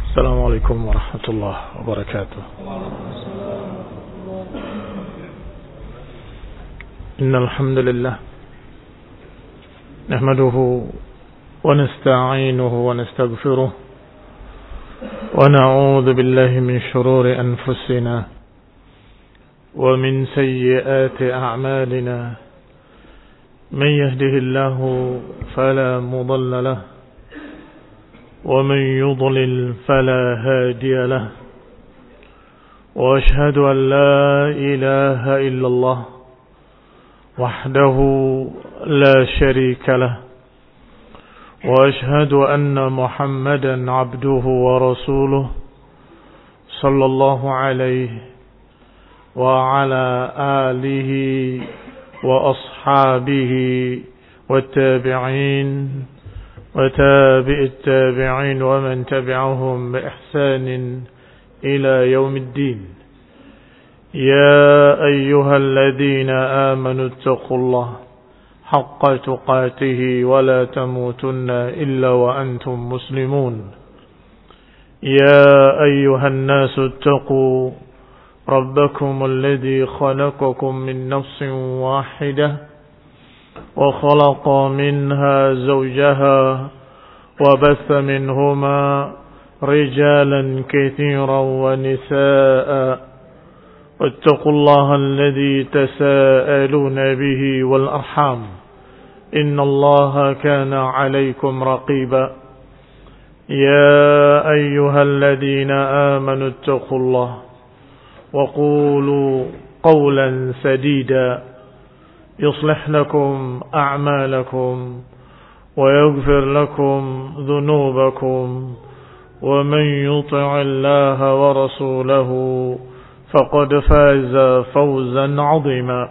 السلام عليكم ورحمة الله وبركاته. إن الحمد لله نحمده ونستعينه ونستغفره ونعوذ بالله من شرور أنفسنا ومن سيئات أعمالنا. من يهده الله فلا مضل له ومن يضلل فلا هادي له، وأشهد أن لا إله إلا الله وحده لا شريك له، وأشهد أن محمدا عبده ورسوله صلى الله عليه وعلى آله وأصحابه والتابعين وتابع التابعين ومن تبعهم بإحسان إلى يوم الدين. يا أيها الذين آمنوا اتقوا الله حق تقاته ولا تموتن إلا وأنتم مسلمون. يا أيها الناس اتقوا ربكم الذي خلقكم من نفس واحدة وخلق منها زوجها وبث منهما رجالا كثيرا ونساء، واتقوا الله الذي تساءلون به والأرحام إن الله كان عليكم رقيبا. يا أيها الذين آمنوا اتقوا الله وقولوا قولا سديدا يصلح لكم أعمالكم ويغفر لكم ذنوبكم، ومن يطع الله ورسوله فقد فاز فوزا عظيما.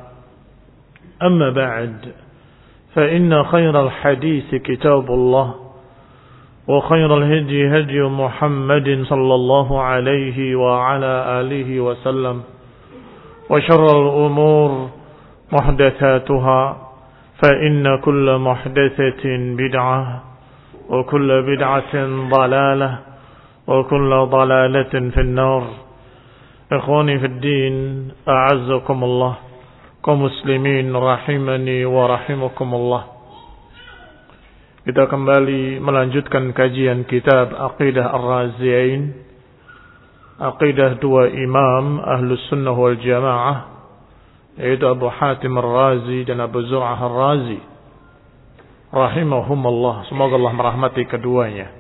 أما بعد، فإن خير الحديث كتاب الله، وخير الهدي هدي محمد صلى الله عليه وعلى آله وسلم، وشر الأمور محدثاتها، فإن كل محدثة بدعة وكل بدعة ضلالة وكل ضلالة في النار. إخواني في الدين، أعزكم الله كمسلمين rahimani wa rahimakumullah. Kita kembali melanjutkan kajian kitab Aqidah Ar-Raziyain, Aqidah dua imam Ahlus Sunnah wal Jamaah, yaitu Abu Hatim Ar-Razi dan Abu Zur'ah Ar-Razi rahimahumullah. Semoga Allah merahmati keduanya.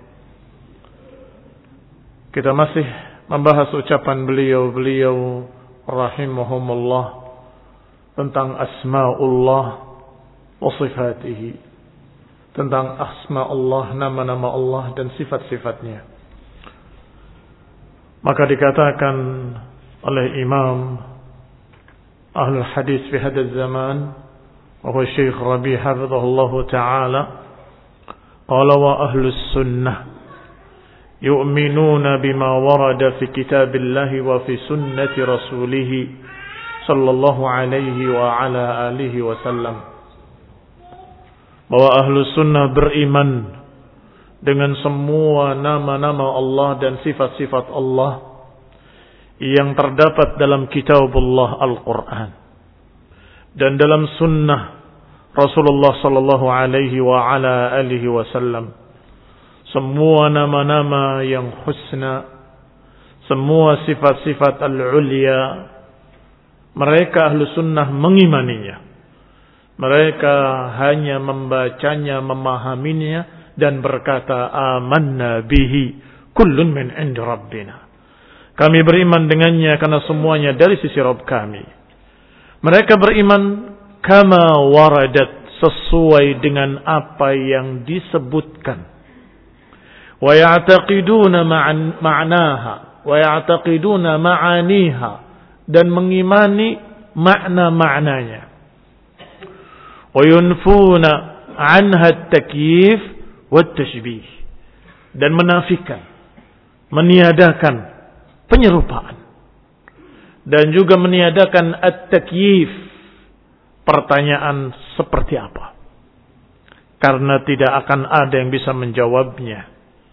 Kita masih membahas ucapan beliau rahimahumullah tentang asma'ullah wa sifatihi, tentang asma Allah, nama-nama Allah dan sifat-sifatnya. Maka dikatakan oleh Imam Ahlul Hadis fi hadha zaman, wa huwa Syekh Rabi' hafizahullahu ta'ala, qala wa ahlus sunnah yu'minuna bima warada fi kitabillahi wa fi sunnati rasulih sallallahu alaihi wa ala alihi wa sallam. Bahwa ahlus sunnah beriman dengan semua nama-nama Allah dan sifat-sifat Allah yang terdapat dalam kitabullah Al-Quran dan dalam sunnah Rasulullah sallallahu alaihi wa ala alihi wasallam. Semua nama-nama yang husna, semua sifat-sifat al-ulya, mereka ahlu sunnah mengimaninya. Mereka hanya membacanya, memahaminya dan berkata amanna bihi kullun min indi rabbina. Kami beriman dengannya karena semuanya dari sisi Rabb kami. Mereka beriman kama waradat, sesuai dengan apa yang disebutkan. Wa ya'taqiduna ma'naha wa ya'taqiduna ma'aniha, dan mengimani makna-maknanya. Wa yunfuna anha at-takyif wat-tashbih, dan menafikan, meniadakan penyerupaan, dan juga meniadakan at-takyif, pertanyaan seperti apa, karena tidak akan ada yang bisa menjawabnya.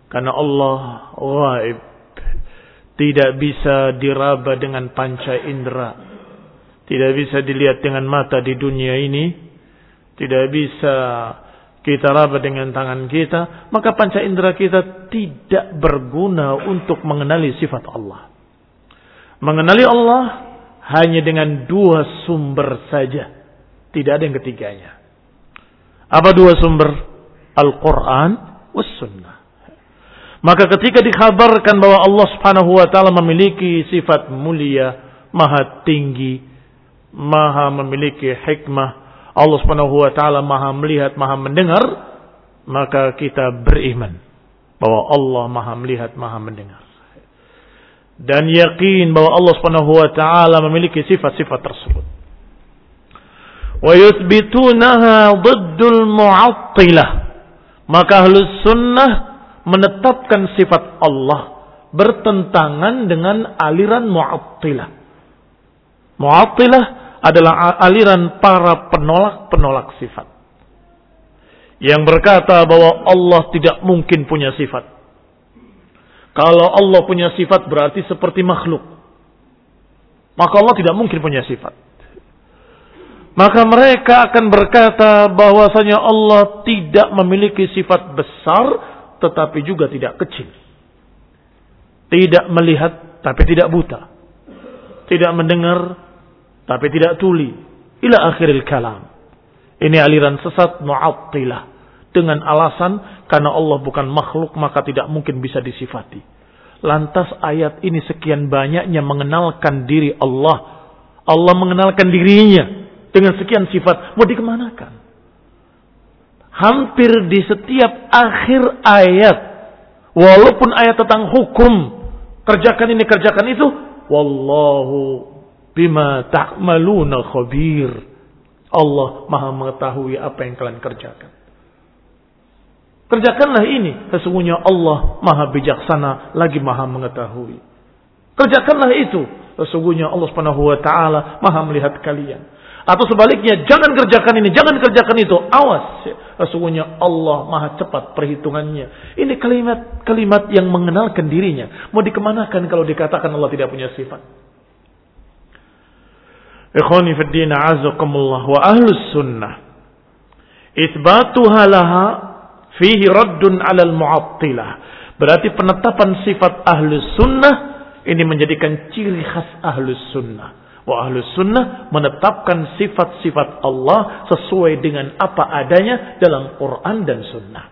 Karena Allah ghaib, tidak bisa diraba dengan panca indera, tidak bisa dilihat dengan mata di dunia ini, tidak bisa kita raba dengan tangan kita, maka panca indera kita tidak berguna untuk mengenali sifat Allah. Mengenali Allah hanya dengan dua sumber saja, tidak ada yang ketiganya. Apa dua sumber? Al-Quran was Sunnah. Maka ketika dikabarkan bahwa Allah Subhanahu wa taala memiliki sifat mulia, maha tinggi, maha memiliki hikmah, Allah Subhanahu wa taala maha melihat, maha mendengar, maka kita beriman bahwa Allah maha melihat, maha mendengar. Dan yakin bahwa Allah Subhanahu wa taala memiliki sifat-sifat tersebut. Wa yuthbitunaha diddul mu'attilah. Maka Ahlus Sunnah menetapkan sifat Allah bertentangan dengan aliran Mu'attilah. Mu'attilah adalah aliran para penolak-penolak sifat, yang berkata bahwa Allah tidak mungkin punya sifat. Kalau Allah punya sifat berarti seperti makhluk, maka Allah tidak mungkin punya sifat. Maka mereka akan berkata bahwasanya Allah tidak memiliki sifat besar tetapi juga tidak kecil. Tidak melihat tapi tidak buta. Tidak mendengar tapi tidak tuli. Ila akhiril kalam. Ini aliran sesat Mu'attilah. Dengan alasan karena Allah bukan makhluk maka tidak mungkin bisa disifati. Lantas ayat ini sekian banyaknya mengenalkan diri Allah. Allah mengenalkan dirinya dengan sekian sifat. Mau dikemanakan? Hampir di setiap akhir ayat, walaupun ayat tentang hukum, kerjakan ini, kerjakan itu, wallahu bima ta'maluna khabir. Allah maha mengetahui apa yang kalian kerjakan. Kerjakanlah ini, sesungguhnya Allah maha bijaksana lagi maha mengetahui. Kerjakanlah itu, sesungguhnya Allah Subhanahu wa taala maha melihat kalian. Atau sebaliknya, jangan kerjakan ini, jangan kerjakan itu. Awas, sesungguhnya Allah maha cepat perhitungannya. Ini kalimat-kalimat yang mengenalkan dirinya. Mau dikemanakan kalau dikatakan Allah tidak punya sifat? Ikhwani fid din a'azakumullah wa ahlus sunnah. Itsbatuha laha fihi raddun 'alal mu'attilah. Berarti penetapan sifat ahlus sunnah ini menjadikan ciri khas ahlus sunnah. Wa ahlus sunnah menetapkan sifat-sifat Allah sesuai dengan apa adanya dalam Quran dan sunnah.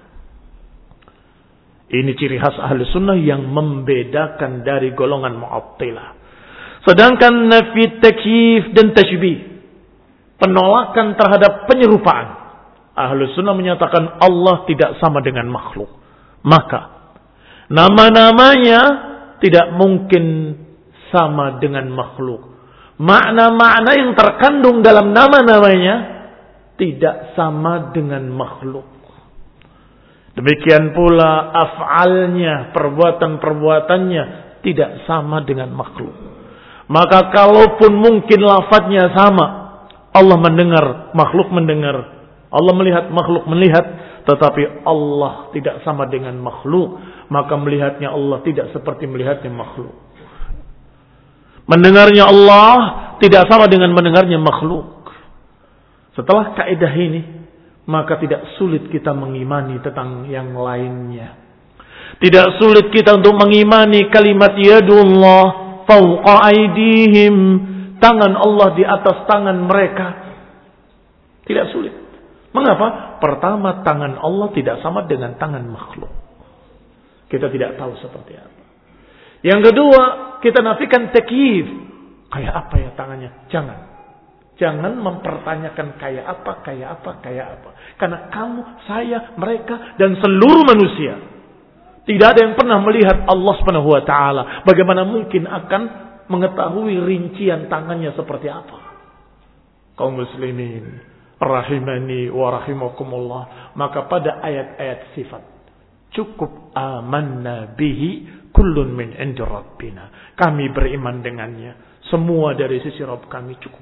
Ini ciri khas ahlus sunnah yang membedakan dari golongan Mu'attilah. Sedangkan nafi takyif dan tashbih, penolakan terhadap penyerupaan, ahlus sunnah menyatakan Allah tidak sama dengan makhluk. Maka nama-namanya tidak mungkin sama dengan makhluk. Makna-makna yang terkandung dalam nama-namanya tidak sama dengan makhluk. Demikian pula af'alnya, perbuatan-perbuatannya tidak sama dengan makhluk. Maka kalaupun mungkin lafadznya sama, Allah mendengar, makhluk mendengar, Allah melihat, makhluk melihat, tetapi Allah tidak sama dengan makhluk, maka melihatnya Allah tidak seperti melihatnya makhluk. Mendengarnya Allah tidak sama dengan mendengarnya makhluk. Setelah kaidah ini, maka tidak sulit kita mengimani tentang yang lainnya. Tidak sulit kita untuk mengimani kalimat yadullah fawqa aydihim, tangan Allah di atas tangan mereka. Tidak sulit. Mengapa? Pertama, tangan Allah tidak sama dengan tangan makhluk. Kita tidak tahu seperti apa. Yang kedua, kita nafikan takyif. Kayak apa ya tangannya? Jangan mempertanyakan kayak apa. Karena kamu, saya, mereka, dan seluruh manusia tidak ada yang pernah melihat Allah Subhanahu wa taala. Bagaimana mungkin akan mengetahui rincian tangannya seperti apa? Kaum muslimin rahimani wa rahimakumullah. Maka pada ayat-ayat sifat cukup amanna bihi kullun min indi rabbina. Kami beriman dengannya. Semua dari sisi Rabb kami cukup.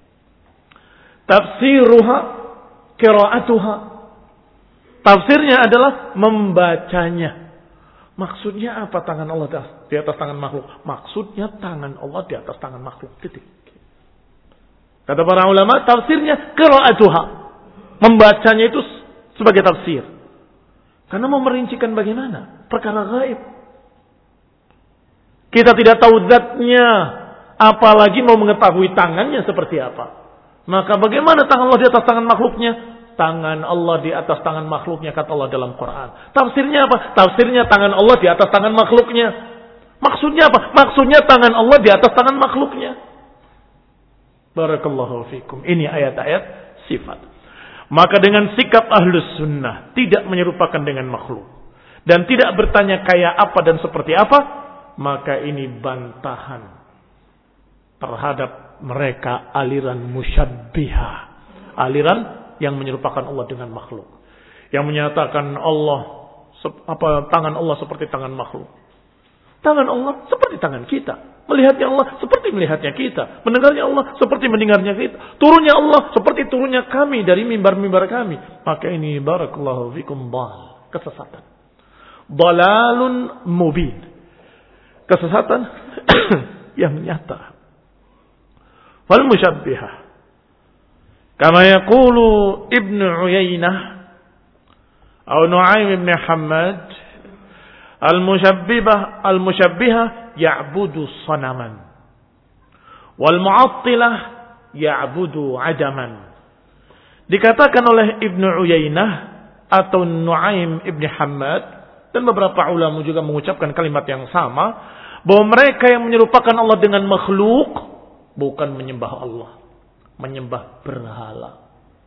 Tafsiruha, qiraatuha. Tafsirnya adalah membacanya. Maksudnya apa tangan Allah di atas tangan makhluk? Maksudnya tangan Allah di atas tangan makhluk. Titik. Kata para ulama, tafsirnya qira'atuha. Membacanya itu sebagai tafsir. Karena mau merincikan bagaimana? Perkara gaib. Kita tidak tahu zatnya, apalagi mau mengetahui tangannya seperti apa. Maka bagaimana tangan Allah di atas tangan makhluknya? Tangan Allah di atas tangan makhluknya, kata Allah dalam Quran. Tafsirnya apa? Tafsirnya tangan Allah di atas tangan makhluknya. Maksudnya apa? Maksudnya tangan Allah di atas tangan makhluknya. Barakallahu fikum. Ini ayat-ayat sifat. Maka dengan sikap ahlus sunnah, tidak menyerupakan dengan makhluk, dan tidak bertanya kayak apa dan seperti apa, maka ini bantahan terhadap mereka aliran musyabbihah. Aliran yang menyerupakan Allah dengan makhluk. Yang menyatakan tangan Allah seperti tangan makhluk. Tangan Allah seperti tangan kita. Melihatnya Allah seperti melihatnya kita. Mendengarnya Allah seperti mendengarnya kita. Turunnya Allah seperti turunnya kami dari mimbar-mimbar kami. Maka ini barakallahu fikum kesesatan. Dalalun mubin. Kesesatan yang nyata. Wal musyabbihah. Kama yaqulu Ibnu Uyainah atau Nu'aim ibn Hammad, al-musyabbihah ya'budu sanaman. Wal mu'attilah ya'budu adaman. Dikatakan oleh Ibnu Uyainah atau Nu'aim ibn Hammad, dan beberapa ulama juga mengucapkan kalimat yang sama, bahwa mereka yang menyerupakan Allah dengan makhluk bukan menyembah Allah, menyembah berhala.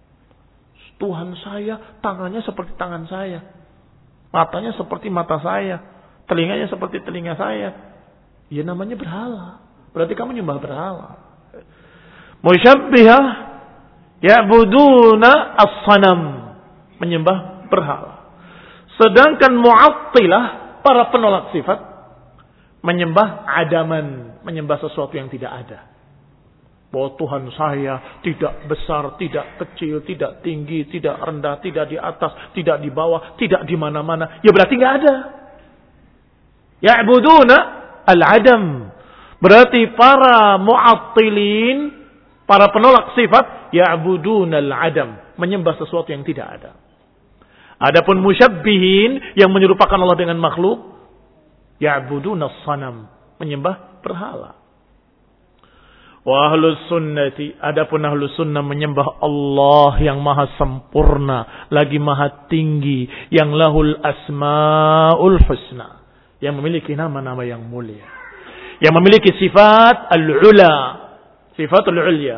Tuhan saya tangannya seperti tangan saya, matanya seperti mata saya, telinganya seperti telinga saya. Ya namanya berhala. Berarti kamu menyembah berhala. Musyabbihah ya'buduna as-sanam, menyembah berhala. Sedangkan mu'attilah, para penolak sifat, menyembah adaman, menyembah sesuatu yang tidak ada. Bahwa Tuhan saya tidak besar, tidak kecil, tidak tinggi, tidak rendah, tidak di atas, tidak di bawah, tidak di mana-mana. Ya berarti nggak ada. Ya'buduna al-adam. Berarti para mu'attilin, para penolak sifat, ya'buduna al-adam, menyembah sesuatu yang tidak ada. Adapun musyabbihin yang menyerupakan Allah dengan makhluk, ya'buduna as-sanam, menyembah berhala. Wa ahlus sunnati, adapun ahlus sunnah menyembah Allah yang maha sempurna, lagi maha tinggi, yang lahul asmaul husna, yang memiliki nama-nama yang mulia, yang memiliki sifat al-ula, sifat al-ulya.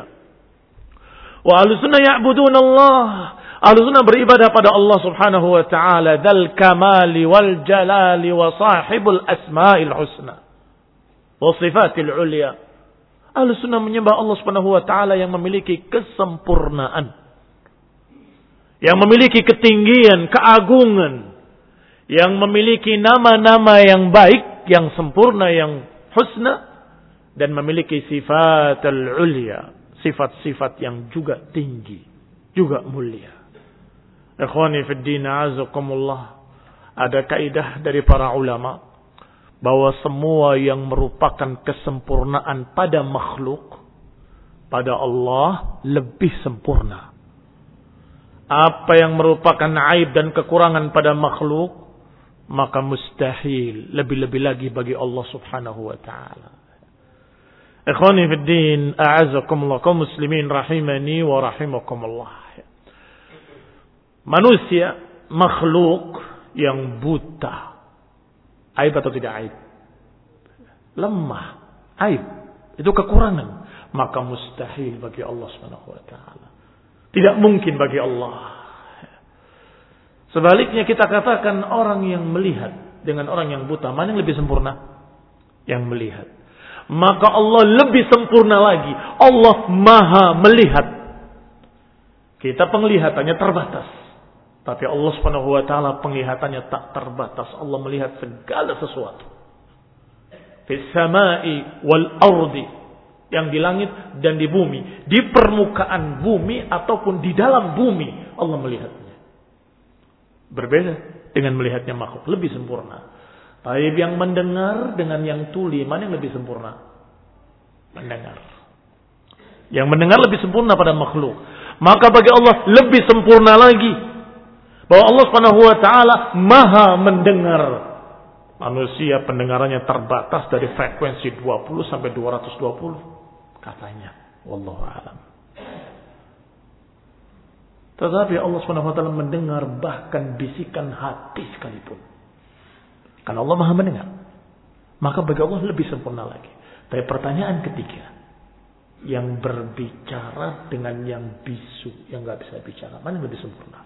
Wa ahlus sunnah ya'budun Allah, ahlus sunnah beribadah pada Allah subhanahu wa ta'ala, dzal kamali wal jalali wa sahibul asmail husna wa sifatil ulya. Ahlus sunnah menyembah Allah subhanahu wa ta'ala yang memiliki kesempurnaan, yang memiliki ketinggian, keagungan, yang memiliki nama-nama yang baik, yang sempurna, yang husna, dan memiliki sifat al-ulya, sifat-sifat yang juga tinggi, juga mulia. Ikhwani fid din, a'azakumullah. Ada kaidah dari para ulama bahwa semua yang merupakan kesempurnaan pada makhluk, pada Allah lebih sempurna. Apa yang merupakan aib dan kekurangan pada makhluk, maka mustahil lebih-lebih lagi bagi Allah subhanahu wa ta'ala. Ikhwani fid din, a'azakumullah, kaum muslimin rahimani wa rahimakumullah. Manusia, makhluk yang buta. Aib atau tidak aib? Lemah, aib. Itu kekurangan. Maka mustahil bagi Allah subhanahu wa ta'ala. Tidak mungkin bagi Allah. Sebaliknya kita katakan orang yang melihat dengan orang yang buta, mana yang lebih sempurna? Yang melihat. Maka Allah lebih sempurna lagi. Allah maha melihat. Kita penglihatannya terbatas. Tapi Allah subhanahu wa ta'ala penglihatannya tak terbatas. Allah melihat segala sesuatu. Fis samai wal ardi. Yang di langit dan di bumi. Di permukaan bumi ataupun di dalam bumi. Allah melihatnya. Berbeda dengan melihatnya makhluk. Lebih sempurna. Taib yang mendengar dengan yang tuli, mana yang lebih sempurna? Mendengar. Yang mendengar lebih sempurna pada makhluk. Maka bagi Allah lebih sempurna lagi bahwa Allah Subhanahu wa taala Maha mendengar. Manusia pendengarannya terbatas dari frekuensi 20 sampai 220 katanya. Wallahu a'lam. Tetapi Allah Subhanahu wa taala mendengar bahkan bisikan hati sekalipun. Karena Allah Maha mendengar. Maka bagi Allah lebih sempurna lagi. Tapi pertanyaan ketiga, yang berbicara dengan yang bisu, yang enggak bisa bicara, mana yang lebih sempurna?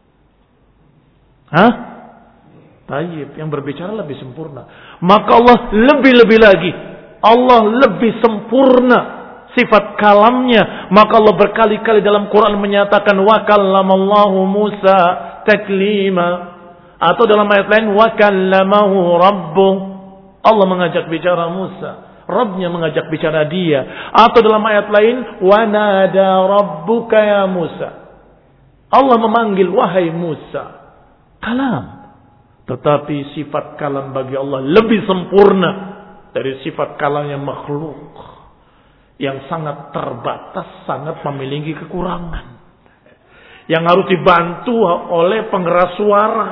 Hah? Tayyib, yang berbicara lebih sempurna. Maka Allah lebih-lebih lagi. Allah lebih sempurna sifat kalamnya. Maka Allah berkali-kali dalam Quran menyatakan wa kallamallahu Musa taklima. Atau dalam ayat lain wa kallamahu rabbuh. Allah mengajak bicara Musa, Rabbnya mengajak bicara dia. Atau dalam ayat lain wa nada rabbuka ya Musa. Allah memanggil wahai Musa. Kalam. Tetapi sifat kalam bagi Allah lebih sempurna dari sifat kalamnya makhluk yang sangat terbatas, sangat memiliki kekurangan, yang harus dibantu oleh pengeras suara.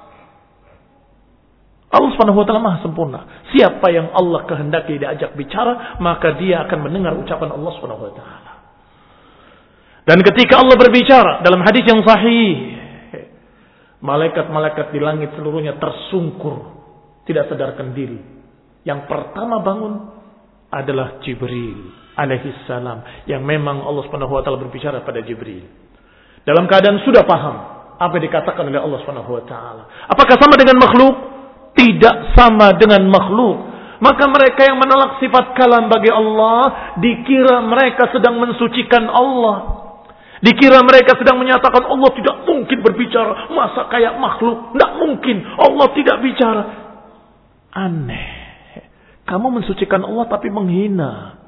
Allah Subhanahu wa taala Maha sempurna. Siapa yang Allah kehendaki diajak bicara, maka dia akan mendengar ucapan Allah Subhanahu wa taala. Dan ketika Allah berbicara dalam hadis yang sahih, malaikat-malaikat di langit seluruhnya tersungkur, tidak sadarkan diri. Yang pertama bangun adalah Jibril alaihissalam, yang memang Allah Subhanahu wa taala berbicara pada Jibril dalam keadaan sudah paham apa yang dikatakan oleh Allah Subhanahu wa taala. Apakah sama dengan makhluk? Tidak sama dengan makhluk. Maka mereka yang menolak sifat kalam bagi Allah, dikira mereka sedang mensucikan Allah. Dikira mereka sedang menyatakan Allah tidak mungkin berbicara. Masa kayak makhluk? Tidak mungkin. Allah tidak bicara. Aneh. Kamu mensucikan Allah tapi menghina.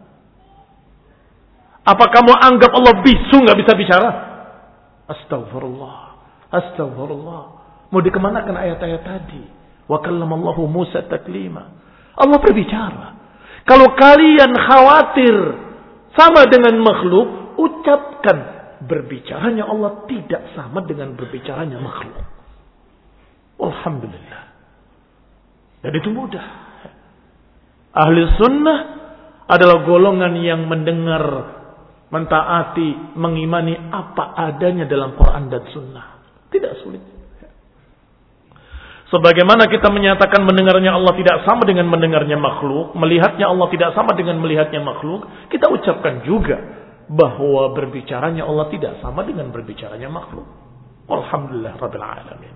Apa kamu anggap Allah bisu nggak bisa bicara? Astagfirullah. Astagfirullah. Mau dikemanakan ayat-ayat tadi? Wa kallamallahu Musa taklima. Allah berbicara. Kalau kalian khawatir sama dengan makhluk, ucapkan berbicaranya Allah tidak sama dengan berbicaranya makhluk. Alhamdulillah. Dan itu mudah. Ahli sunnah adalah golongan yang mendengar, mentaati, mengimani apa adanya dalam Quran dan sunnah. Tidak sulit. Sebagaimana kita menyatakan mendengarnya Allah tidak sama dengan mendengarnya makhluk, melihatnya Allah tidak sama dengan melihatnya makhluk, kita ucapkan juga bahwa berbicaranya Allah tidak sama dengan berbicaranya makhluk. Alhamdulillah Rabbil Alamin.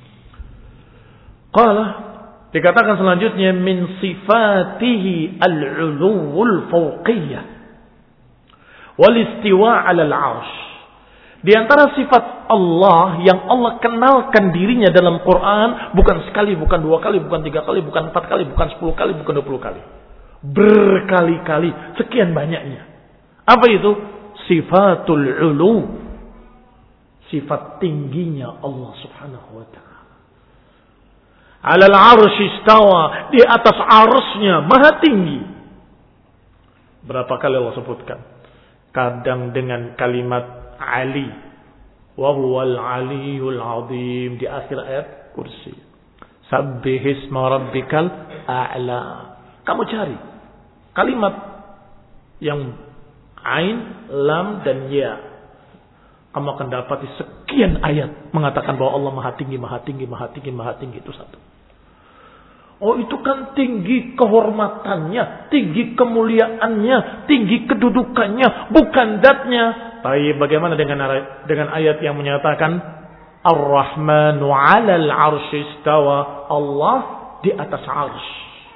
Qala, dikatakan selanjutnya min sifatihi al-'uluwul fawqiyah wal istiwa' 'alal 'arsy. Di antara sifat Allah yang Allah kenalkan dirinya dalam Quran, bukan sekali, bukan dua kali, bukan tiga kali, bukan empat kali, bukan 10 kali, bukan 20 kali. Berkali-kali, sekian banyaknya. Apa itu? Sifatul ulu. Sifat tingginya Allah Subhanahu wa ta'ala. Alal arsy istawa, di atas arsy-Nya maha tinggi. Berapa kali Allah sebutkan? Kadang dengan kalimat Ali, wa huwal aliyul azim di akhir ayat kursi. Sabbihisma rabbikal a'la. Kamu cari kalimat yang ain, lam dan ya. Kamu akan dapati sekian ayat mengatakan bahwa Allah maha tinggi, maha tinggi, maha tinggi, maha tinggi. Itu satu. Oh, itu kan tinggi kehormatannya, tinggi kemuliaannya, tinggi kedudukannya, bukan zatnya. Tapi bagaimana dengan ayat yang menyatakan Ar-Rahmanu 'alal 'arsy istawa, Allah di atas 'arsy.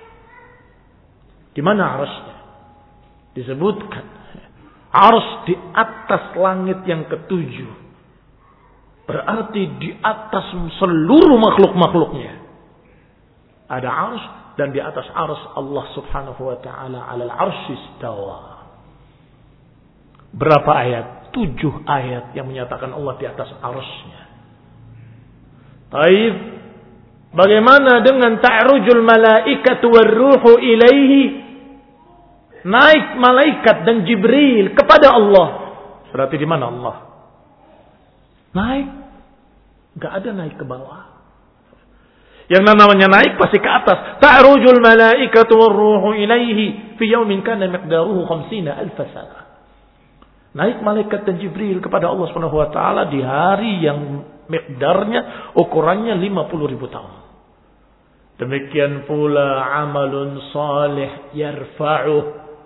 Di mana 'arsy-nya? Disebutkan 'arsy di atas langit yang ketujuh. Berarti di atas seluruh makhluk-makhluknya. Ada 'arsy dan di atas 'arsy Allah Subhanahu wa taala 'alal 'arsy istawa. Berapa ayat? 7 ayat yang menyatakan Allah di atas arsy-Nya. Taib, Bagaimana dengan ta'rujul malaikatu warruhu ilaihi? Naik malaikat dan Jibril kepada Allah. Berarti di mana Allah? Naik. Enggak ada naik ke bawah. Yang namanya naik pasti ke atas. Ta'rujul malaikatu warruhu ilaihi fi yaumin kana miqdaruhu 50,000 sana. Naik malaikat dan Jibril kepada Allah Subhanahu wa taala di hari yang miqdarnya, ukurannya 50.000 tahun. Demikian pula amalun salih yarfa'uh.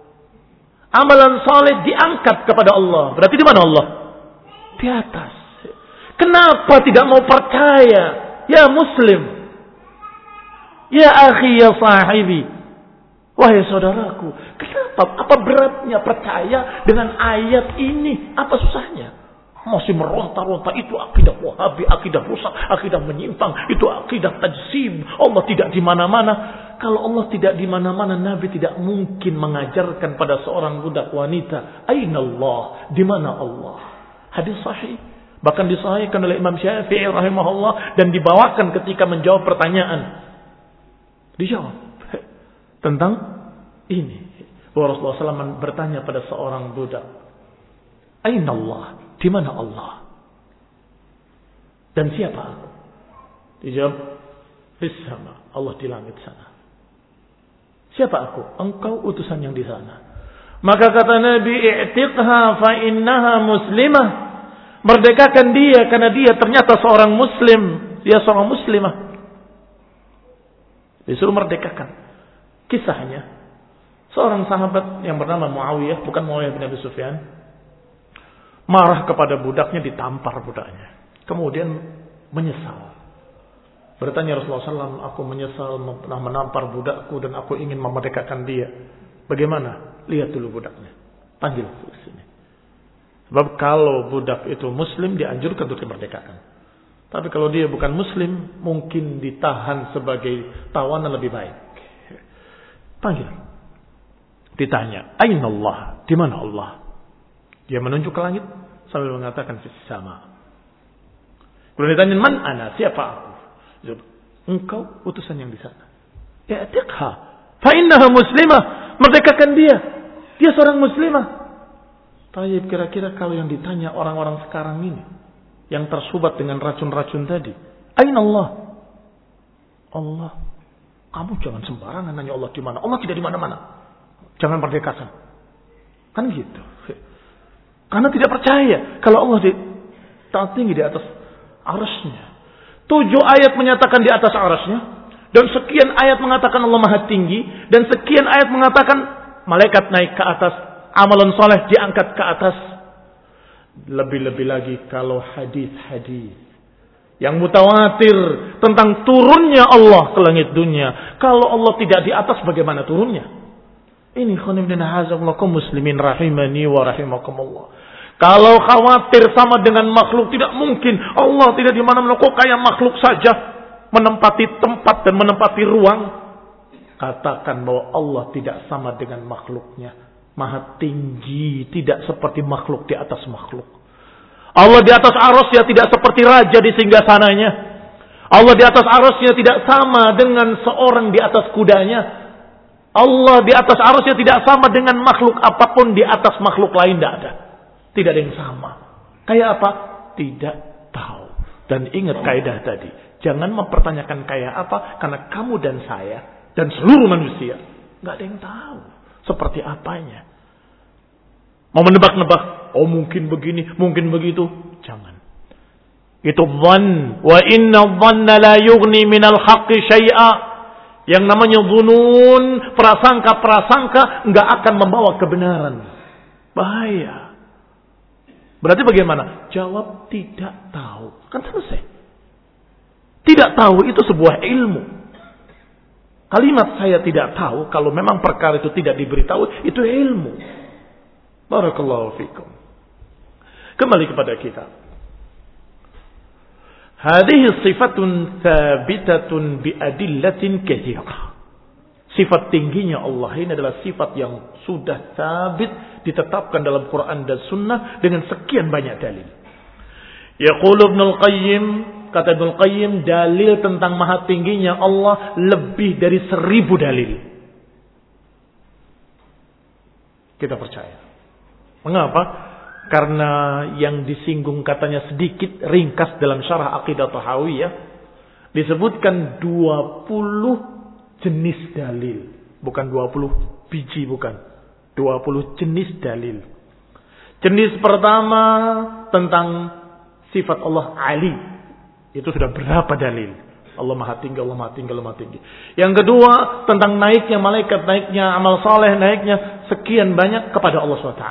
Amalan salih diangkat kepada Allah. Berarti di mana Allah? Di atas. Kenapa tidak mau percaya? Ya muslim. Ya akhi, ya sahibi. Wahai saudaraku, kenapa? Apa beratnya percaya dengan ayat ini? Apa susahnya? Masih meronta-ronta, itu akidah Wahabi, akidah rusak, akidah menyimpang, itu akidah tajsim. Allah tidak di mana-mana. Kalau Allah tidak di mana-mana, Nabi tidak mungkin mengajarkan pada seorang budak wanita, "Aina Allah?" Di mana Allah? Hadis sahih, bahkan disahihkan oleh Imam Syafi'i rahimahullah dan dibawakan ketika menjawab pertanyaan. Dijawab tentang ini. Rasulullah SAW bertanya pada seorang budak, "Aina Allah?" Di mana Allah? Dan siapa aku? Dijawab, "Fis sama." Allah di langit sana. Siapa aku? Engkau utusan yang di sana. Maka kata Nabi, "I'tiqha fa innaha muslimah." Merdekakan dia karena dia ternyata seorang muslim. Dia seorang muslimah. Disuruh merdekakan. Kisahnya, seorang sahabat yang bernama Muawiyah, bukan Muawiyah bin Abi Sufyan, marah kepada budaknya, ditampar budaknya. Kemudian menyesal. Bertanya Rasulullah SAW, "Aku menyesal pernah menampar budakku dan aku ingin memerdekakan dia." Bagaimana? Lihat dulu budaknya. Panggil ke sini. Sebab kalau budak itu muslim, dianjurkan untuk dimerdekakan. Tapi kalau dia bukan muslim, mungkin ditahan sebagai tawanan lebih baik. Panggil. Ditanya, "Aina Allah?" Di mana Allah? Dia menunjuk ke langit sambil mengatakan fis sama. Kemudian ditanya, "Man ana?" Siapa aku? Engkau utusan yang di sana. "I'tiqha fa innaha muslimah." Merdekakan dia. Dia seorang muslimah. Tapi kira-kira kalau yang ditanya orang-orang sekarang ini, yang tersubat dengan racun-racun tadi, "Aina Allah?" Allah. Kamu jangan sembarangan nanya Allah di mana. Allah tidak di mana-mana. Jangan merdekakan. Kan gitu. Karena tidak percaya kalau Allah tinggi di atas arasnya. 7 ayat menyatakan di atas arasnya. Dan sekian ayat mengatakan Allah maha tinggi. Dan sekian ayat mengatakan malaikat naik ke atas. Amalan soleh diangkat ke atas. Lebih-lebih lagi kalau hadis-hadis yang mutawatir tentang turunnya Allah ke langit dunia. Kalau Allah tidak di atas, bagaimana turunnya? Ini khonibdin hazamullakum muslimin rahimani wa rahimakumullah. Kalau khawatir sama dengan makhluk, tidak mungkin. Allah tidak di mana-mana, kok kayak makhluk saja menempati tempat dan menempati ruang. Katakan bahwa Allah tidak sama dengan makhluknya. Maha tinggi, tidak seperti makhluk di atas makhluk. Allah di atas arasnya tidak seperti raja di singgasananya. Allah di atas arasnya tidak sama dengan seorang di atas kudanya. Allah di atas arasnya tidak sama dengan makhluk apapun di atas makhluk lain, tidak ada. Tidak ada yang sama. Kayak apa? Tidak tahu. Dan ingat kaidah tadi. Jangan mempertanyakan kayak apa. Karena kamu dan saya dan seluruh manusia nggak ada yang tahu seperti apanya. Mau menebak-nebak. Oh mungkin begini, mungkin begitu. Jangan. Itu dhann. Wa inna dhanna la yughni minal haqqi syai'a. Yang namanya dhunun, prasangka-prasangka nggak akan membawa kebenaran. Bahaya. Berarti bagaimana? Jawab tidak tahu. Kan selesai. Tidak tahu itu sebuah ilmu. Kalimat saya tidak tahu, kalau memang perkara itu tidak diberitahu, itu ilmu. Barakallahu fikum. Kembali kepada kita. Hadhihi sifatun thabitatun biadillatin katsirah. Sifat tingginya Allah ini adalah sifat yang sudah sabit, ditetapkan dalam Quran dan Sunnah dengan sekian banyak dalil. Yaqulu Ibnu Al-Qayyim kata Ibnu Qayyim, dalil tentang maha tingginya Allah lebih dari 1000 dalil. Kita percaya. Mengapa? Karena yang disinggung katanya sedikit ringkas dalam syarah Aqidah Tahawiyah. Disebutkan 20 jenis dalil. Bukan 20 biji, bukan. 20 jenis dalil. Jenis pertama tentang sifat Allah Ali. Itu sudah berapa dalil? Allah maha tinggi, Allah maha tinggi, Allah maha tinggi. Yang kedua tentang naiknya malaikat, naiknya amal saleh, naiknya sekian banyak kepada Allah SWT.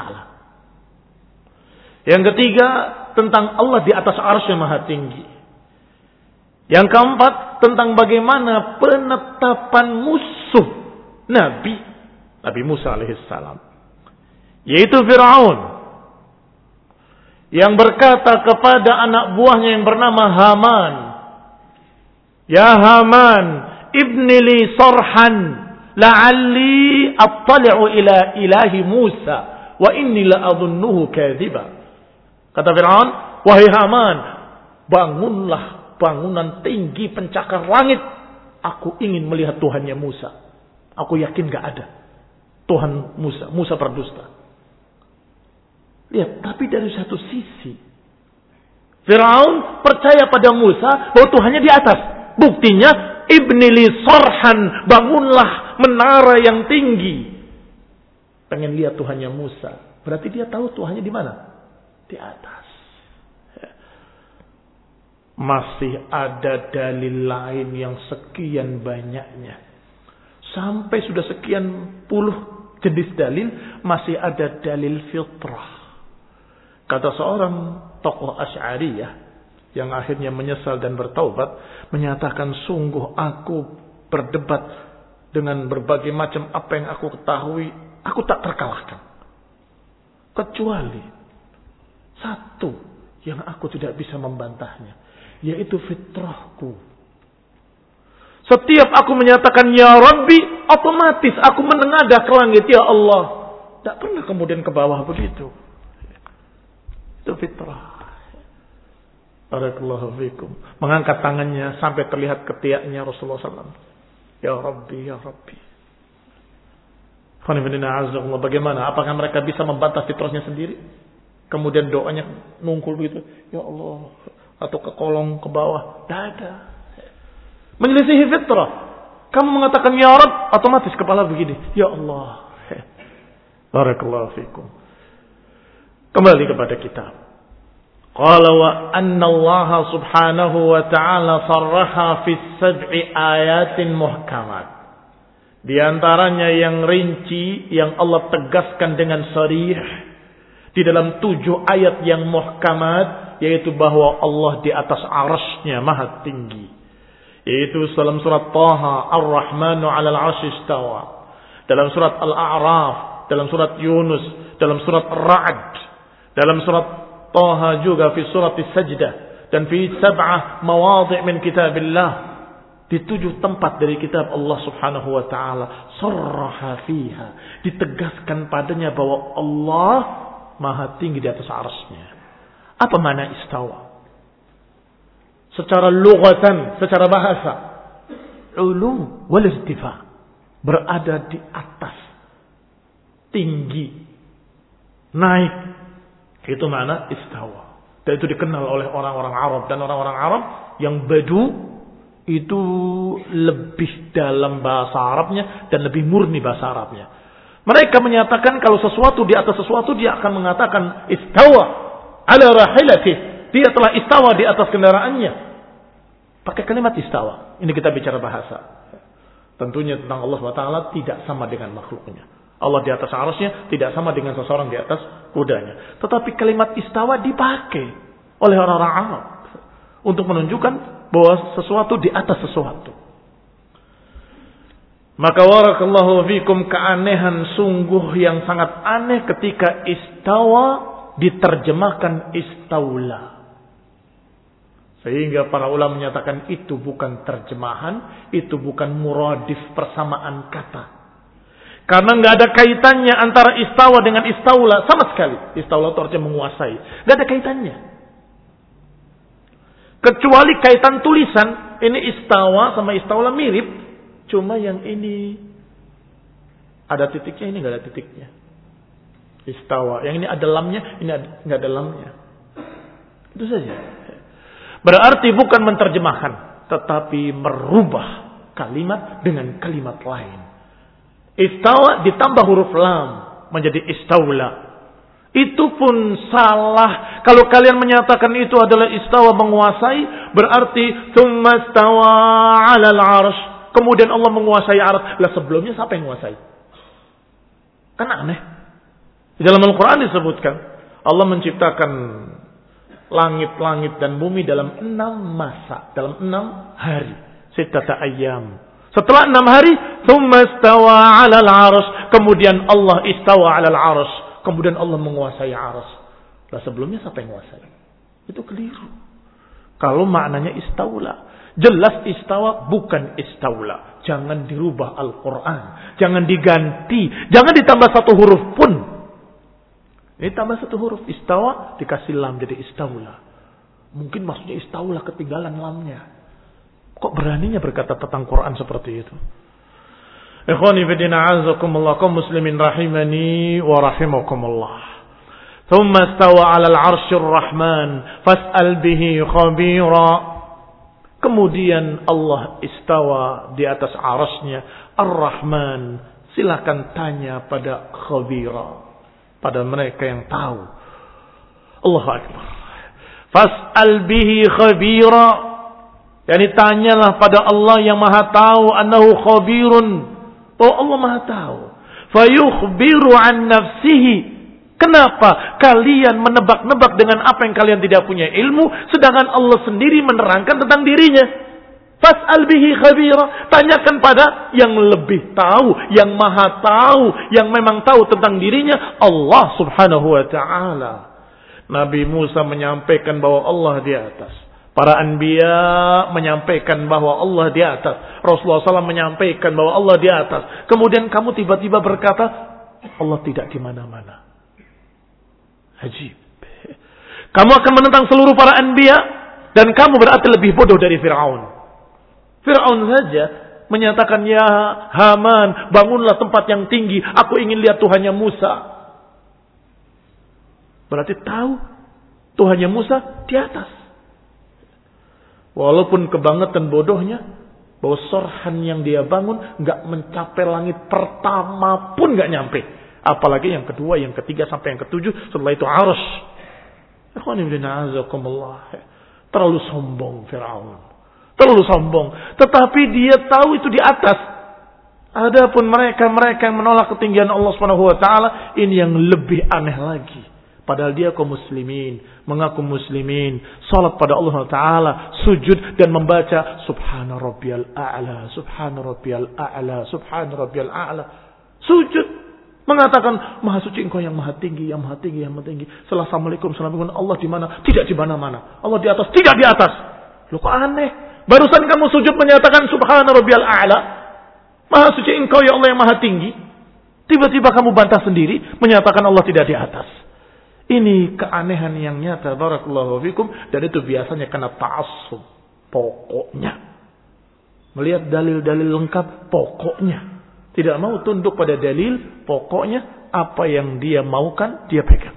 Yang ketiga tentang Allah di atas arsy maha tinggi. Yang keempat tentang bagaimana penetapan musuh Nabi Musa alaihissalam, yaitu Fir'aun, yang berkata kepada anak buahnya yang bernama Haman, "Ya Haman, ibni li sarhan la'alli attali'u ila ilahi Musa wa inni la'adhunnuhu kadhiba." Kata Fir'aun, "Wahai Haman, bangunlah bangunan tinggi pencakar langit. Aku ingin melihat Tuhannya Musa. Aku yakin gak ada Tuhan Musa. Musa berdusta." Lihat, tapi dari satu sisi Fir'aun percaya pada Musa bahwa Tuhannya di atas. Buktinya, ibni li sarhan, bangunlah menara yang tinggi. Pengen lihat Tuhannya Musa. Berarti dia tahu Tuhannya di mana? Di atas. Masih ada dalil lain yang sekian banyaknya. Sampai sudah sekian puluh jenis dalil, masih ada dalil fitrah. Kata seorang tokoh Asy'ariyah yang akhirnya menyesal dan bertaubat, menyatakan, sungguh aku berdebat dengan berbagai macam apa yang aku ketahui, aku tak terkalahkan. Kecuali satu yang aku tidak bisa membantahnya, yaitu fitrahku. Setiap aku menyatakan ya Rabbi, otomatis aku menengadah ke langit, ya Allah. Tak pernah kemudian ke bawah begitu. Itu fitrah. Barakallahu fikum. Mengangkat tangannya sampai terlihat ketiaknya Rasulullah SAW. Ya Rabbi, ya Rabbi. Bagaimana? Apakah mereka bisa membantah fitrahnya sendiri? Kemudian doanya nungkul begitu. Ya Allah. Atau ke kolong, ke bawah. Tidak ada. Menyelisihi fitrah. Kamu mengatakan ya Rabb, otomatis kepala begini. Ya Allah. Barakallahu fikum. Kembali kepada kitab. Qala wa anna Allah subhanahu wa ta'ala sarraha fi 7 ayatin muhkamat. Di antaranya yang rinci, yang Allah tegaskan dengan sharih di dalam 7 ayat yang muhkamat, yaitu bahwa Allah di atas arasy-Nya maha tinggi. Yaitu dalam surat Taha, Ar-Rahmanu 'alal 'arsy istawa. Dalam surat Al-A'raf, dalam surat Yunus, dalam surat Ar-Ra'd, dalam surat Taha juga fi surat As-Sajdah, dan fi 7 mawadhi' min kitabillah, di 7 tempat dari kitab Allah Subhanahu wa taala, sarraha fiha, ditegaskan padanya bahwa Allah maha tinggi di atas arsy-Nya. Apa makna istawa? Secara lughatan, secara bahasa, ulu wal irtifa, berada di atas, tinggi, naik. Itu makna istawa. Dan itu dikenal oleh orang-orang Arab. Dan orang-orang Arab yang badu itu lebih dalam bahasa Arabnya dan lebih murni bahasa Arabnya. Mereka menyatakan kalau sesuatu di atas sesuatu, dia akan mengatakan istawa ala rahilatih. Dia telah istawa di atas kendaraannya. Pakai kalimat istawa. Ini kita bicara bahasa. Tentunya tentang Allah SWT tidak sama dengan makhluknya. Allah di atas arasy-Nya tidak sama dengan seseorang di atas kudanya. Tetapi kalimat istawa dipakai oleh orang-orang Arab untuk menunjukkan bahwa sesuatu di atas sesuatu. Maka warakallahu fikum, keanehan sungguh yang sangat aneh ketika istawa diterjemahkan istaula. Sehingga para ulama menyatakan itu bukan terjemahan, itu bukan muradif persamaan kata. Karena nggak ada kaitannya antara istawa dengan istaula sama sekali. Istaula itu artinya menguasai. Nggak ada kaitannya. Kecuali kaitan tulisan. Ini istawa sama istawla mirip. Cuma yang ini ada titiknya, ini nggak ada titiknya. Istawa. Yang ini ada lamnya, ini nggak ada lamnya. Itu saja. Berarti bukan menerjemahkan, tetapi merubah kalimat dengan kalimat lain. Istawa ditambah huruf lam menjadi istawla. Itu pun salah. Kalau kalian menyatakan itu adalah istawa menguasai, berarti tsumma stawa 'alal 'arsy. Kemudian Allah menguasai arsy. Lah sebelumnya siapa yang menguasai? Kan aneh. Di dalam Al-Qur'an disebutkan Allah menciptakan langit-langit dan bumi dalam 6 masa, dalam 6 hari. Sittata ayyam. Setelah 6 hari, tsumma stawa 'alal 'arsy. Kemudian Allah istawa 'alal 'arsy. Kemudian Allah menguasai arsy. Lah sebelumnya siapa yang menguasai? Itu keliru. Kalau maknanya istawla, jelas istawa bukan istawla. Jangan dirubah Al-Quran. Jangan diganti. Jangan ditambah satu huruf pun. Ini tambah satu huruf. Istawa dikasih lam jadi istawla. Mungkin maksudnya istawla ketinggalan lamnya. Kok beraninya berkata tentang Quran seperti itu? Ikhwani fi din a'azakumullah, kaum muslimin rahimani wa rahimakumullah. Thumma istawa 'alal 'arsyir rahman fas'al bihi khabira. Kemudian Allah istawa di atas arasnya Ar-Rahman. Silakan tanya pada khabira, pada mereka yang tahu. Allahu Akbar. Fas'al bihi khabira. Yani tanyalah pada Allah yang maha tahu. Annahu khabirun. Oh Allah maha tahu. Fayukhbiru an nafsihi. Kenapa kalian menebak-nebak dengan apa yang kalian tidak punya ilmu, sedangkan Allah sendiri menerangkan tentang dirinya? Fas'al bihi khabira. Tanyakan pada yang lebih tahu, yang maha tahu, yang memang tahu tentang dirinya, Allah subhanahu wa ta'ala. Nabi Musa menyampaikan bahwa Allah di atas. Para anbiya menyampaikan bahwa Allah di atas. Rasulullah SAW menyampaikan bahwa Allah di atas. Kemudian kamu tiba-tiba berkata, Allah tidak di mana-mana. Ajib. Kamu akan menentang seluruh para anbiya, dan kamu berarti lebih bodoh dari Fir'aun. Fir'aun saja menyatakan, ya Haman, bangunlah tempat yang tinggi. Aku ingin lihat Tuhannya Musa. Berarti tahu Tuhannya Musa di atas. Walaupun kebangetan bodohnya, bahwa sorhan yang dia bangun nggak mencapai langit pertama pun nggak nyampe. Apalagi yang kedua, yang ketiga sampai yang ketujuh. Setelah itu arsy. Terlalu sombong Fir'aun. Terlalu sombong. Tetapi dia tahu itu di atas. Adapun mereka yang menolak ketinggian Allah Subhanahu wa taala, ini yang lebih aneh lagi. Padahal dia kaum muslimin, mengaku muslimin, salat pada Allah Ta'ala, sujud dan membaca Subhana Rabbiyal A'la, Subhana Rabbiyal A'la, Subhana Rabbiyal A'la. Sujud, mengatakan Maha suci Engkau yang maha tinggi, yang maha tinggi, yang maha tinggi. Assalamualaikum, assalamualaikum. Allah di mana? Tidak di mana-mana. Allah di atas, tidak di atas. Loh kok aneh? Barusan kamu sujud menyatakan Subhana Rabbiyal A'la, Maha suci Engkau ya Allah yang maha tinggi. Tiba-tiba kamu bantah sendiri menyatakan Allah tidak di atas. Ini keanehan yang nyata, barakallahu fikum, dan itu biasanya kena ta'assub. Pokoknya. Melihat dalil-dalil lengkap, pokoknya. Tidak mau tunduk pada dalil, pokoknya apa yang dia maukan, dia pegang.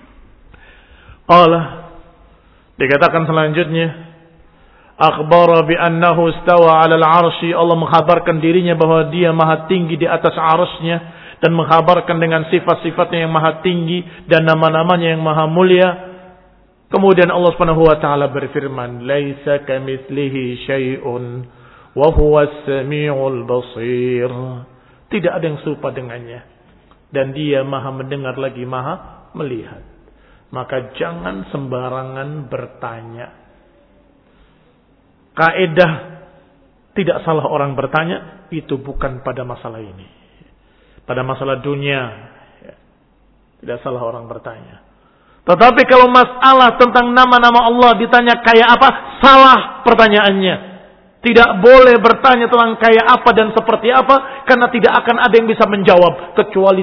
Allah dikatakan selanjutnya, akhbara bi annahu istawa 'alal 'arsy. Allah mengkhabarkan dirinya bahwa dia maha tinggi di atas arsy-Nya. Dan mengkhabarkan dengan sifat-sifatnya yang maha tinggi dan nama-namanya yang maha mulia. Kemudian Allah Subhanahu wa taala berfirman, "Laisa kamitslihi syai'un wa huwas samiul basir." Tidak ada yang serupa dengannya, dan dia maha mendengar lagi maha melihat. Maka jangan sembarangan bertanya. Kaidah tidak salah orang bertanya, itu bukan pada masalah ini. Pada masalah dunia, tidak salah orang bertanya. Tetapi kalau masalah tentang nama-nama Allah ditanya kayak apa, salah pertanyaannya. Tidak boleh bertanya tentang kayak apa dan seperti apa, karena tidak akan ada yang bisa menjawab kecuali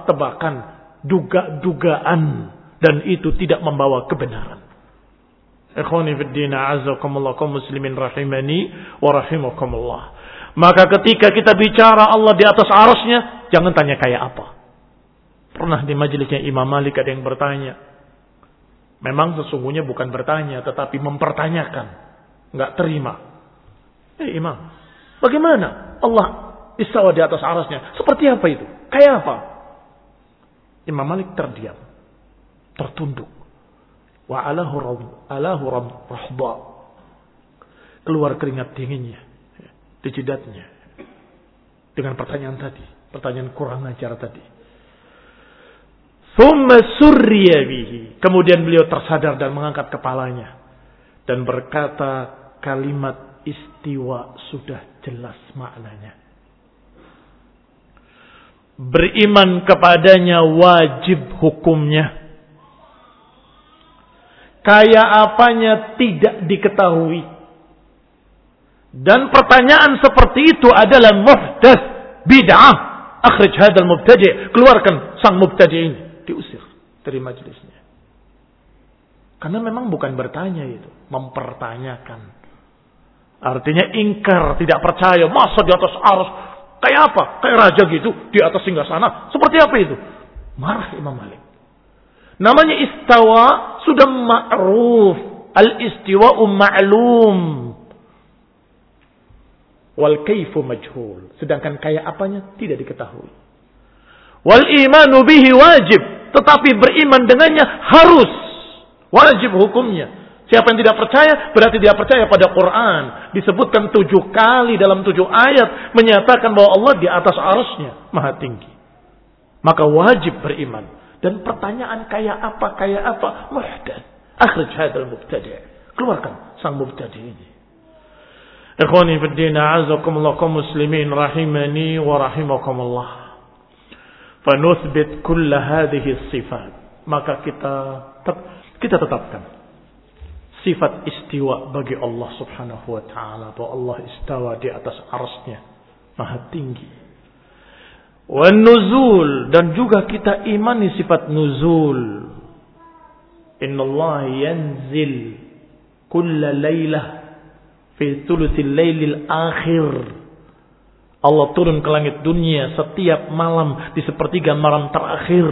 tebak-tebakan, duga-dugaan, dan itu tidak membawa kebenaran. Ikhwani fid din, a'azzakumullah, kaum muslimin rahimani wa rahimakumullah. Maka ketika kita bicara Allah di atas arasnya, jangan tanya kayak apa. Pernah di majelisnya Imam Malik ada yang bertanya. Memang sesungguhnya bukan bertanya, tetapi mempertanyakan. Enggak terima. Imam, bagaimana Allah istawa di atas arasnya? Seperti apa itu? Kayak apa? Imam Malik terdiam, tertunduk. Wa alahu rahba. Keluar keringat dinginnya di jidatnya dengan pertanyaan tadi, pertanyaan kurang ajar tadi. Thumma surriya bihi. Kemudian beliau tersadar dan mengangkat kepalanya dan berkata, kalimat istiwa sudah jelas maknanya. Beriman kepadanya wajib hukumnya. Kayak apanya tidak diketahui. Dan pertanyaan seperti itu adalah muhdats, bid'ah. Akhrij hadzal mubtadi', keluarkan sang mubtadi' ini, diusir dari majelisnya. Karena memang bukan bertanya itu, mempertanyakan. Artinya ingkar, tidak percaya, masa di atas arus kayak apa? Kayak raja gitu, di atas singgasana. Seperti apa itu? Marah Imam Malik. Namanya istawa sudah ma'ruf. Al-istiwa'u ma'lum. Wal kaifu majhul. Sedangkan kayak apanya tidak diketahui. Wal imanu bihi wajib. Tetapi beriman dengannya harus. Wajib hukumnya. Siapa yang tidak percaya berarti dia percaya pada Quran. Disebutkan 7 kali dalam 7 ayat. Menyatakan bahwa Allah di atas arasnya maha tinggi. Maka wajib beriman. Dan pertanyaan kayak apa muhdats. Akhrij hadzal mubtadi', keluarkan sang mubtadi' ini. Ikhwani fid din, a'azzakumullah, kaum muslimin rahimani wa rahimakumullah. Fa nuthbit kull hadhihi sifat. Maka kita tetapkan sifat istiwa bagi Allah Subhanahu wa taala, bahwa Allah istawa di atas arsy-Nya, maha tinggi. Wan nuzul, dan juga kita imani sifat nuzul. Innallaha yanzil kulla lailah fi thuluthil lailil akhir. Allah turun ke langit dunia setiap malam di sepertiga malam terakhir.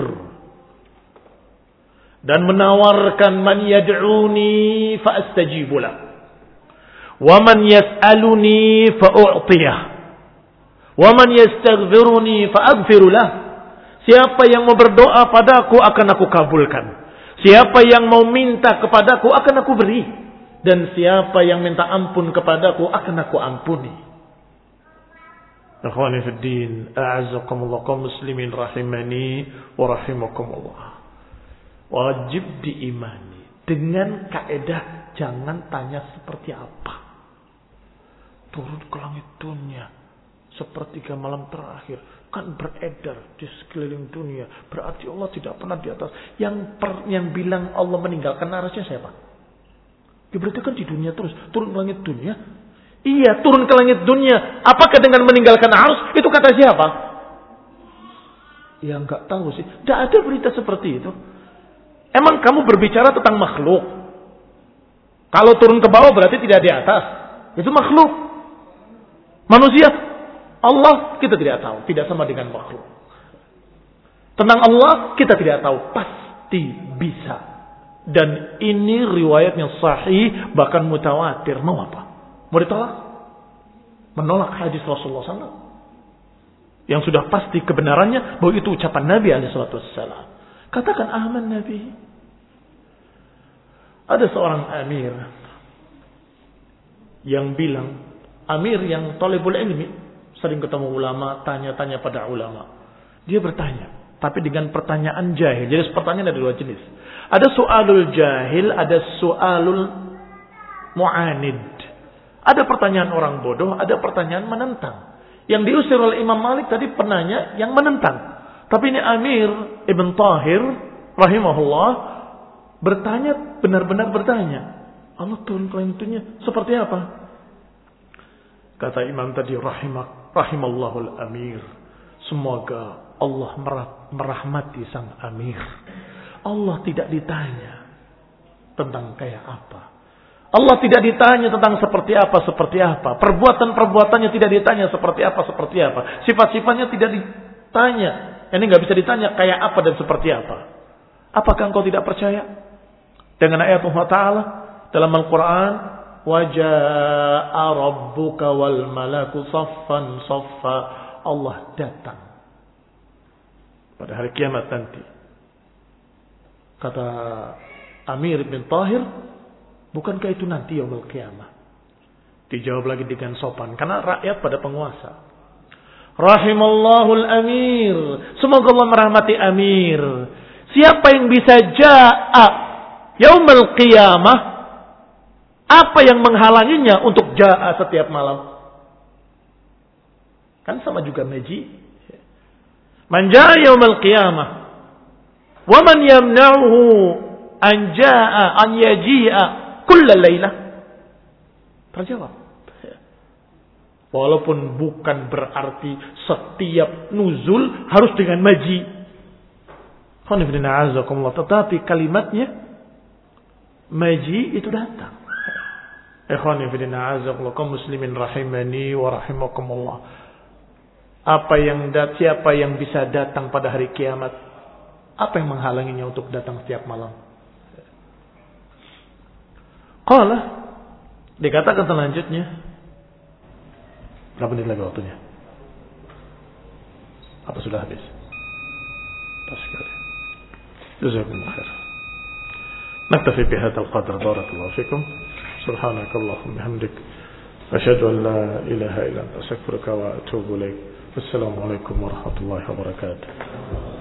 Dan menawarkan man yad'uni fa astajibu lah. Wa man yas'aluni fa u'tiyah. Wa man yastaghfiruni fa aghfiru lah. Siapa yang mau berdoa padaku akan aku kabulkan. Siapa yang mau minta kepadaku akan aku beri. Dan siapa yang minta ampun kepadaku akan aku ampuni. Ikhwani fid din, a'azzakumullah, kaum muslimin rahimani wa rahimakumullah. Wajib diimani dengan kaedah jangan tanya seperti apa. Turun ke langit dunia sepertiga malam terakhir kan beredar di sekeliling dunia. Berarti Allah tidak pernah di atas. Yang bilang Allah meninggalkan arasnya siapa? Ya berarti kan di dunia terus. Turun ke langit dunia. Iya, turun ke langit dunia. Apakah dengan meninggalkan arus? Itu kata siapa? Ya enggak tahu sih. Tidak ada berita seperti itu. Emang kamu berbicara tentang makhluk? Kalau turun ke bawah berarti tidak di atas. Itu makhluk. Manusia, Allah kita tidak tahu, tidak sama dengan makhluk. Tentang Allah kita tidak tahu, pasti bisa. Dan ini riwayat yang sahih, bahkan mutawatir. Mau apa? Mau ditolak? Menolak hadis Rasulullah SAW yang sudah pasti kebenarannya bahwa itu ucapan Nabi SAW. Katakan aman Nabi. Ada seorang amir yang bilang, amir yang talibul ilmi, sering ketemu ulama, tanya-tanya pada ulama. Dia bertanya, tapi dengan pertanyaan jahil. Jadi pertanyaan ada 2 jenis. Ada soalul jahil, ada soalul mu'anid. Ada pertanyaan orang bodoh, ada pertanyaan menentang. Yang diusir oleh Imam Malik tadi penanya yang menentang. Tapi ini Amir Ibn Tahir rahimahullah bertanya, benar-benar bertanya. Allah turun ke langit dunia seperti apa? Kata Imam tadi, rahimallahul amir. Semoga Allah merahmati sang amir. Allah tidak ditanya tentang kayak apa. Allah tidak ditanya tentang seperti apa. Perbuatan-perbuatannya tidak ditanya seperti apa. Sifat-sifatnya tidak ditanya. Ini nggak bisa ditanya kayak apa dan seperti apa. Apakah engkau tidak percaya dengan ayat Allah Ta'ala dalam Al-Quran? Waja'a rabbuka wal malaku saffan saffa. Allah datang pada hari kiamat nanti. Kata Amir bin Tahir, bukankah itu nanti yaumul qiyamah? Dijawab lagi dengan sopan, karena rakyat pada penguasa. Rahimallahul amir. Semoga Allah merahmati Amir. Siapa yang bisa ja'a yaumul qiyamah? Apa yang menghalanginya untuk ja'a setiap malam? Kan sama juga maji. Man ja'a yaumul qiyamah wa man yamna'uhu an ja'a an yaji'a kulla laylah. Terjawab. Walaupun bukan berarti setiap nuzul harus dengan maji. Tetapi kalimatnya maji itu datang. Ikhwani fillah azakumullah muslimin rahimani wa rahimakumullah. Siapa yang bisa datang pada hari kiamat? Apa yang menghalanginya untuk datang setiap malam? Qala, dikatakan selanjutnya, berapa menit lagi waktunya? Apa sudah habis? Pas sekali. Jazakumullah khair. Naktafi bihadzal qadr. Barakallahu fikum. Subhanakallahumma bihamdik. Asyhadu an la ilaha illa anta astaghfiruka wa atubu ilaik. Wassalamu alaikum warahmatullahi wabarakatuh.